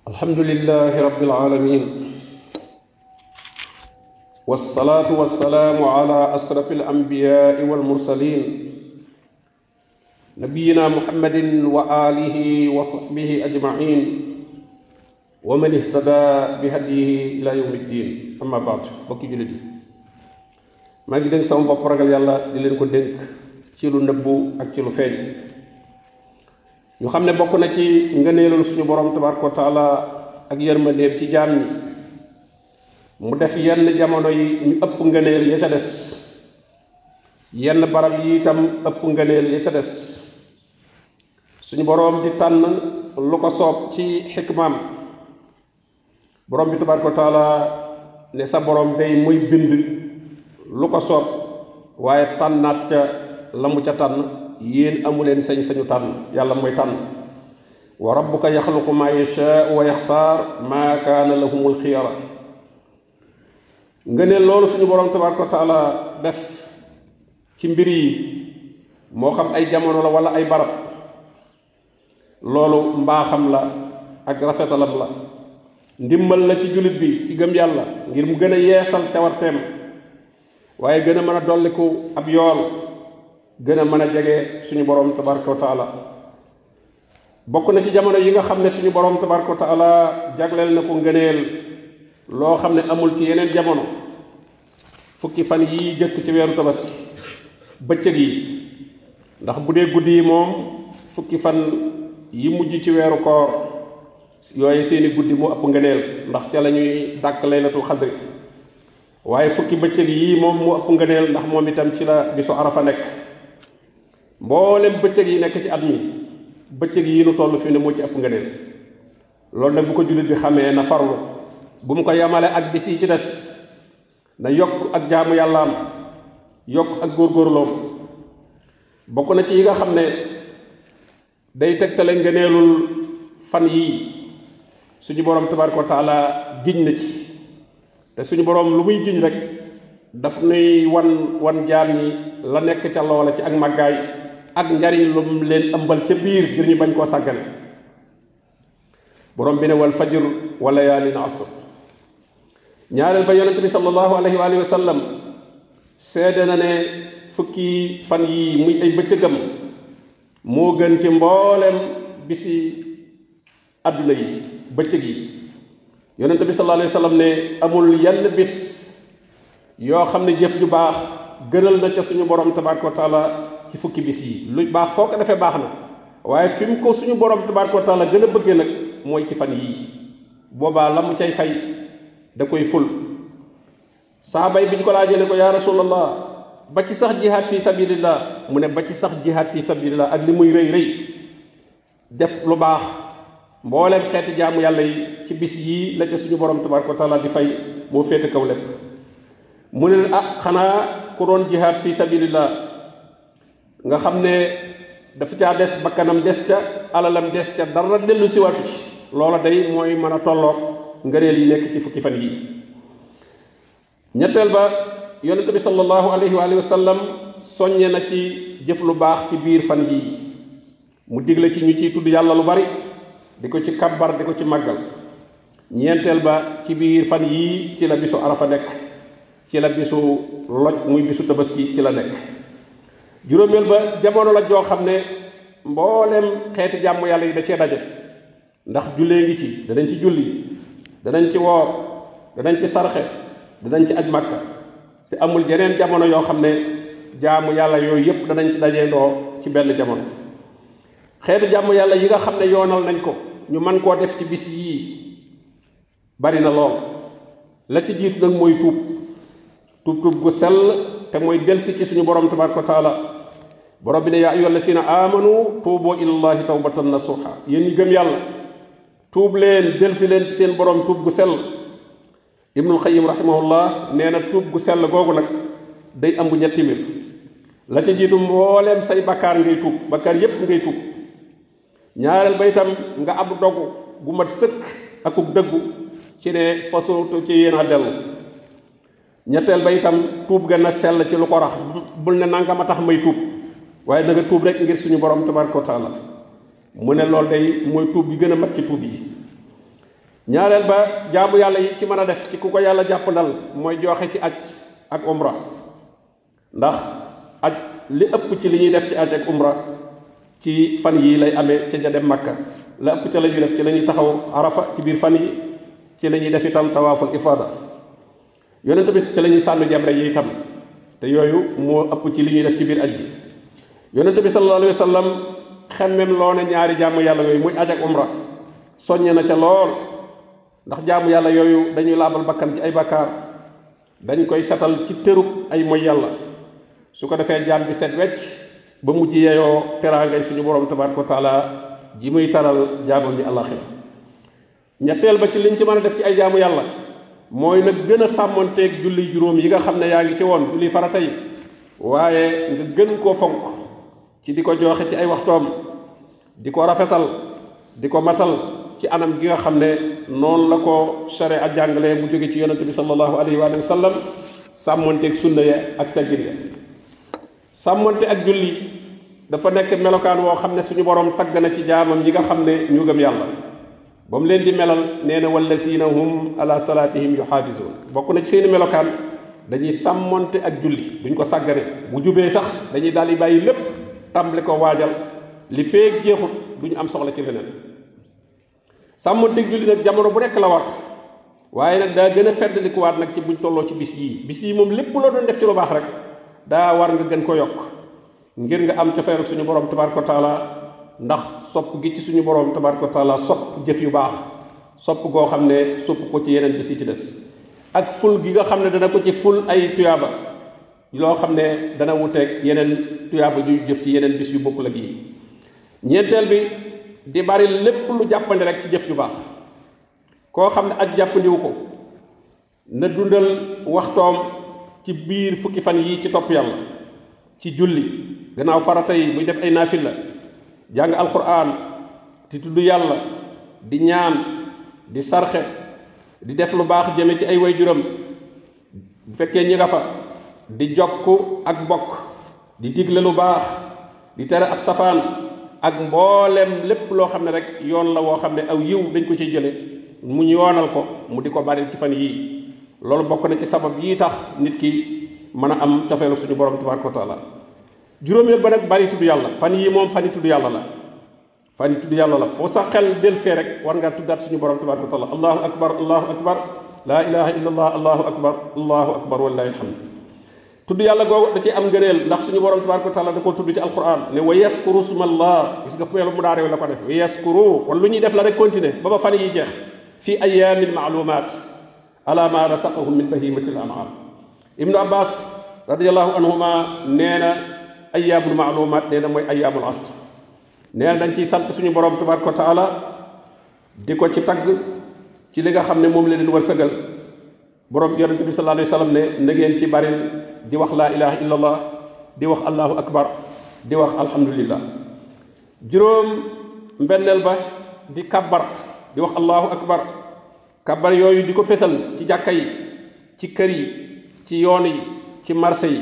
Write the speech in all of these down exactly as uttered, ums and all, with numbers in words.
الحمد لله رب العالمين والصلاة والسلام على أشرف الأنبياء والمرسلين نبينا محمد وآله وصحبه أجمعين ومن اهتدى بهديه إلى يوم الدين أما بعد بكي جلدي ما ngi denk sama bopp ragal yàlla di leen ko dénk ci lu nëbbu ak ci lu feeñ ñu xam ne bokk na ci ngëneelul suñu borom tabaraka wa taala ak yërmandeem ci jaam ñi mu def yenn jamono yi ñu ëpp ngëneel ya ca des yenn barab yi itam ëpp ngëneel ya ca des suñu borom di tànn lu ko soob ci xikmaam borom bi tabaraka wa taala ne sa borom day muy bind lu ko soob waaye tànnaat ca la mu ca tànn yéen amuleen sañ-sañu tànn yàlla mooy tànn wa rabbuka yaxluqu ma yashaa wa yaxtaar ma kaana lahumul xiyara nga ne loolu suñu borom tabaraka wa taala def ci mbir yi moo xam ay jamono la wala ay barab loolu mbaaxam la ak rafetalam la ndimmal la ci jullit bi ki gëm yàlla ngir mu gën a yeesal cawarteem waaye gën a mën a dolliku ab yool gën a mën a jege suñu borom tabaraka wa taala bokk na ci jamono yi nga xam ne suñu borom tabaraka wa taala jagleel na ko ngëneel loo xam ne amul ci yeneen jamono fukki fan yi jëkk ci weeru tabaski bëccëg yi ndax bu dee guddi yi moom fukki fan yi mujj ci weeru koor yooyu seeni guddi mu ëpp ngëneel ndax ca la ñuy dàkk laylatul xadri waaye fukki bëccëg yi moom mu ëpp ngëneel ndax moom itam ci la bisu arafa nekk mboolem bëccëg yi nekk ci at mi bëccëg yi nu toll fi ne moo ci ëpp ngëneel loolu nag bu ko jullit bi xamee na farlu bu mu ko yamale ak bis yi ci des na yokk ak jaamu yàllaam yokk ak góorgóorloom bokk na ci yi nga xam ne day tegtale ngëneelul fan yii suñu borom tabaraka wa taala giñ na ci te suñu borom lu muy giñ rek daf nuy wan wan jaam ñi la nekk ca loola ci ak màggaay ak njariñ lu mu leen ëmbal ca biir ngir ñu bañ koo sàggane borom bi ne wal fajr wa layaalin asr ñaareel ba yonente bi sallallahu alayhi wa alihi wa sallam seede na ne fukki fan yii muy ay bëccëgam moo gën ci mboolem bisi àdduna yi bëccëg yi yonente bi sallallahu alayhi wa sallam ne amul yenn bis yoo xam ne jëf ju baax gënal na ca suñu borom tabaraka wa taala ci fukki bis yi lu baax foo ko defee baax na waaye fi mu ko suñu borom tabaraka wa taala gën a bëggee nag mooy ci fan yii boobaa la mu cay fay da koy ful saxaaba yi bi ñu ko laajee ne ko yaa rasulallah ba ci sax jihaad fi sabilillah mu ne ba ci sax jihaad fi sabilillah ak li muy rëy rëy def lu baax mbooleem xeeti jaamu yàlla yi ci bis yii la ca suñu borom tabaraka wa taala di fay moo féete kaw lépp mu ne ah xanaa ku doon jihaad fi sabilillah nga xam ne dafa caa des bakkanam des ca alalam des ca dara dellu si waatu ci loola day mooy mën a tolloog ngëneel yi nekk ci fukki fan yii ñetteel ba yonente bi sallallahu alayhi wa alihi wa sallam soññe na ci jëf lu baax ci biir fan yii mu digle ci ñu ciy tudd yàlla lu bari di ko ci kabbar di ko ci màggal ñeenteel ba ci biir fan yii ci la bisu arafa nekk ci la bisu loj muy bisu tabaski ci la nekk juróomeel ba jamono la joo xam ne mboolem xeeti jàmm yàlla yi da cee daje ndax jullee ngi ci danañ ci julli danañ ci woor danañ ci sarxe danañ ci aj màkka te amul yeneen jamono yoo xam ne jaamu yàlla yooyu yépp danañ ci dajee ndoo ci benn jamono xeetu jàmm yàlla yi nga xam ne yoonal nañ ko ñu mën koo def ci bis yii bari na lool la ci jiitu nag mooy tuub tuub tuub gu sell te mooy delsi ci suñu borom tabaraka wa taala borom bi ne yaa ayyuhal lazina amanu tuubu ilallahi tawbatan nasuha yéen ñi gëm yàlla tuub leen delsi leen ci seen borom tuub gu sell ibnul xayim rahimahullah nee na tuub gu sell googu nag day ëmb ñetti mbir la ca jiitu mbooleem say bakkaar ngay tuub bakkaar yépp ngay tuub ñaareel ba itam nga ab dogu gu mat sëkk akuk dëggu ci ne fasuutu ci yéen a dellu ñetteel ba itam tuub gën a sell ci lu ko rax bul ne nanga ma tax may tuub waaye da nga tuub rek ngir suñu borom tabaraka wa taala mu ne loolu day mooy tuub gi gën a mat ci tuub yi ñaareel ba jaamu yàlla yi ci mën a def ci ku ko yàlla jàppandal mooy joxe ci aj ak umra ndax aj li ëpp ci li ñuy def ci aj ak umra ci fan yii lay amee ca ja dem Makka la ëpp ca la ñuy def ci la ñuy taxaw Arafa ci biir fan yi ci la ñuy def itam tawaaful ifaada yonent bi ci la ñuy sànni jamre yi itam te yooyu moo ëpp ci li ñuy def ci biir aj bi yonent bi sallallahu alayhi wa sallam xemmem loo ne ñaari jaamu yàlla yooyu muy aj ak umra soññe na ca lool ndax jaamu yàlla yooyu dañuy laabal bakkan ci ay bakkaar dañ koy setal ci tërub ay moy yàlla su ko defee jaam bi set wecc ba mujj yeyoo teraangay suñu borom tabaraka wa taala ji muy taral jaamam ñi àllaxira ñetteel ba ci liñ ci mën a def ci ay jaamu yàlla mooy nag gën a sàmmonteeg julli juróom yi nga xam ne yaa ngi ci woon julli farata yi waaye nga gën koo fonk ci di ko joxe ci ay waxtoom di ko rafetal di ko matal ci anam gi nga xam ne noonu la ko sharia ak jàngale mu jóge ci yonente bi sallallahu alayhi wa sallam sàmmonteeg sunna ya ak tajir ya sàmmonte ak julli dafa nekk melokaan woo xam ne suñu borom tagg na ci jaamam yi nga xam ne ñu gëm yàlla ba mu leen di melal nee na wallazina hum ala salatihim yuhaafisuun bokk na ci seeni melokaan dañuy sàmmonte ak julli duñ ko sàggane bu jubee sax dañuy daal di bàyyi lépp tàmbali ko waajal li feeg jeexut duñu am soxla ci leneen sàmmonte ak julli nag jamono bu nekk la war waaye nag daa gën a feddlikuwaat nag ci buñ tolloo ci bis yii bis yii moom lépp loo doon def ci lu baax rek daa war nga gën ko yokk ngir nga am cofeel ak suñu borom tabaraka wa taala ndax sopp gi ci suñu borom tabaraka wa taala sopp jëf yu baax sopp goo xam ne sopp ko ci yeneen bis yi ci des ak ful gi nga xam ne dana ko ci ful ay tuyaaba loo xam ne dana wuteeg yeneen tuyaaba yu jëf ci yeneen bis yu bokkul ak yi ñeenteel bi di bari lépp lu jàppandi rek ci jëf yu baax koo xam ne aj jàppandiwu ko na dundal waxtoom ci biir fukki fan yii ci topp yàlla ci julli gannaaw farata yi muy def ay naafila jàng alquran di tudd yàlla di ñaan di sarxe di def lu baax jëme ci ay waajuram bu fekkee ñi nga fa di jokk ak bokk di digle lu baax di tere ab safaan ak mboolem lépp loo xam ne rek yoon la woo xam ne aw yiw dañ ko ci jële mu ñu yoonal ko mu di ko bari ci fan yii loolu bokk na ci sabab yii tax nit ki mën a am cofeelu suñu borom tabaraka wa taala juróomeel ba nag bari tudd yàlla fan yii moom fan yi tudd yàlla la fan yi tudd yàlla la foo sa xel delsee rek war ngaa tuddaat suñu borom tabaraka wa taala allahu akbar allahu akbar laa ilaha illa allah allahu akbar allahu akbar wallahi alhamd tudd yàlla googu da ci am ngëneel ndax suñu borom tabaraka wa taala da koo tudd ci alquran ne wa yaskuru smallah gis nga meelu mu daarew la ko def wa yaskuru kon lu ñuy def la rek continuer ba ba fan yi jeex fi ayamin maalumat ala ma rasaqahum min bahimati al an'am ibnu abbas radiallahu anhuma nee na ayaamul maalumat nee na mooy ayaamul asr nee na dañ ciy sant suñu borom tabaraka wa taala di ko ci tagg ci li nga xam ne moom la leen wërsëgal borom yonente bi sallallahu alayhi wa sallam ne na ngeen ci baril di wax laa ilaha illa allah di wax allahu akbar di wax alhamdulillah juróom mbenneel ba di kabbar di wax allahu akbar kabbar yooyu di ko fesal ci jàkka yi ci kër yi ci yoon yi ci marché yi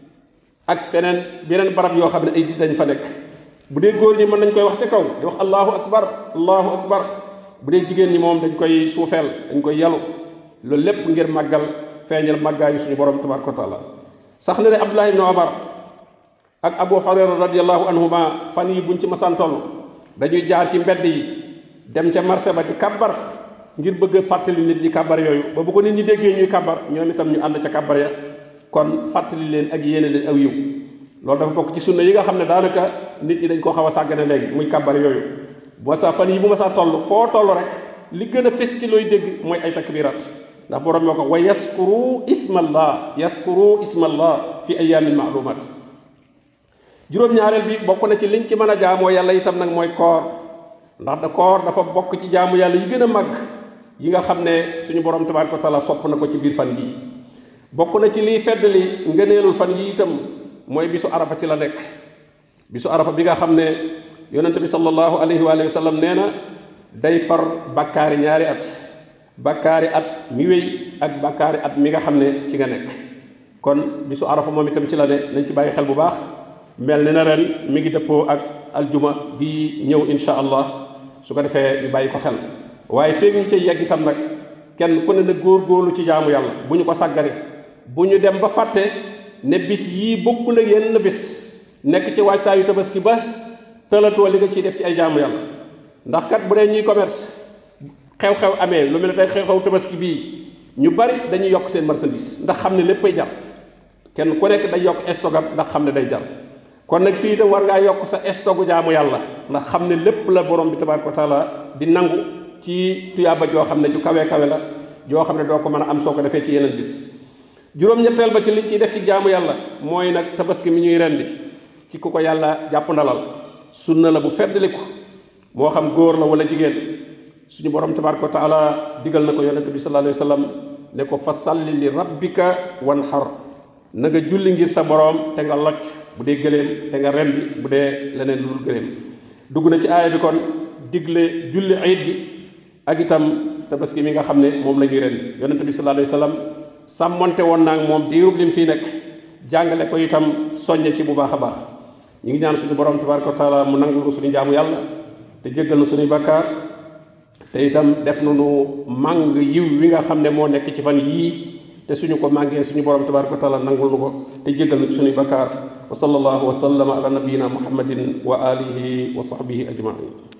ak feneen beneen barab yoo xam ne ay di dañ fa nekk bu dee góor ñi mën nañ koy wax ca kaw di wax allahu akbar allahu akbar bu dee jigéen ñi moom dañ koy suufeel dañ koy yalu loolu lépp ngir màggal feeñal màggaayu suñu borom tabaraka wa taala sax na ne abdullah ibnu omar ak abu hurayra radiallahu anhuma fan yi buñ ci masaan toll dañuy jaar ci mbedd yi dem ca marché ba di kàbbar ngir bëgg a fàttali nit ñi kàbbar yooyu ba bu ko nit ñi déggee ñuy kàbbar ñoom itam ñu ànd ca kàbbar ya kon fàttali leen ak yéene leen aw yiw loolu dafa bokk ci sunna yi nga xam ne daanaka nit ñi dañ koo xaw a sàggane léegi muy kàbbar yooyu boo sa fan yi bu ma saa toll foo toll rek li gën a fes ci looy dégg mooy ay takbiraat ndax borom moo ko wa yaskuru ismallah yaskuru ismallah fi ayamin maalumat juróom-ñaareel bi bokk na ci liñ ci mën a jaamoo yàlla itam nag mooy koor ndax da koor dafa bokk ci jaamu yàlla yi gën a màgg yi nga xam ne suñu borom tabaraka wa taala sopp na ko ci biir fan yi bokk na ci liy feddali ngëneelul fan yi itam mooy bisu arafa ci la nekk bisu arafa bi nga xam ne yonente bi sallallahu alayhi wa sallam nee na day far bakkaari ñaari at bakkaari at mi wéy ak bakkaari at mi nga xam ne ci nga nekk kon bisu arafa moom itam ci la ne nañ ci bàyyi xel bu baax mel ne na ren mi ngi dëppoo ak aljuma bi ñëw insha allah su ko defee ñu bàyyi ko xel waaye feeg ñu cay yegg itam nag kenn ku ne na góor-góorlu ci jaamu yàlla bu ñu ko sàggane bu ñu dem ba fàtte ne bis yii bokkul ak yenn bis nekk ci waajtaayu tabaski ba tëlatoo li nga ciy def ci ay jaamu yàlla ndax kat bu dee ñuy commerce xew-xew amee lu mel ne tey xew-xew tabaski bii ñu bari dañuy yokk seen marchandise ndax xam ne léppay jar kenn ku nekk day yokk stogam ndax xam ne day jar kon nag fii itam war ngaa yokk sa stogu jaamu yàlla ndax xam ne lépp la borom bi tabaaraka wa taala di nangu ci tuyaaba joo xam ne ju kawe kawe la joo xam ne doo ko mën a am soo ko defee ci yeneen bis juróom-ñetteel ba ci liñ ciy def ci jaamu yàlla mooy nag tabaski mi ñuy rendi ci ku ko yàlla jàpp ndalal sunna la bu feddliku moo xam góor la wala jigéen suñu borom tabaaraka wa taala digal na ko yonent bi sallallahu alayhi wa sallam ne ko fa salli li rabbika wanhar na nga julli ngir sa borom te nga locc bu dee gëléem te nga rendi bu dee leneen lu dul gëléem dugg na ci aaya bi kon digle julli ayit gi ak itam tabaski mi nga xam ne moom la ñuy rendi yonent bi sallallahu alayhi wa sallam sàmmonte woon naa moom diirub lim fii nekk jàngale ko itam soññe ci bu baax a baax ñu ngi ñaan suñu borom tabaaraka wa taala mu nangul ko suñu jaamu yàlla te jéggal na suñuy bakkaar te itam def na nu màng yiw wi nga xam ne moo nekk ci fan yii te suñu ko màngee suñu borom tabaaraka wa taala nangul nu ko te jéggal na ci suñuy bakkaar wa sallallahu wa sallama ala nabiyyina muhammadin wa alihi wa sahbihi ajmain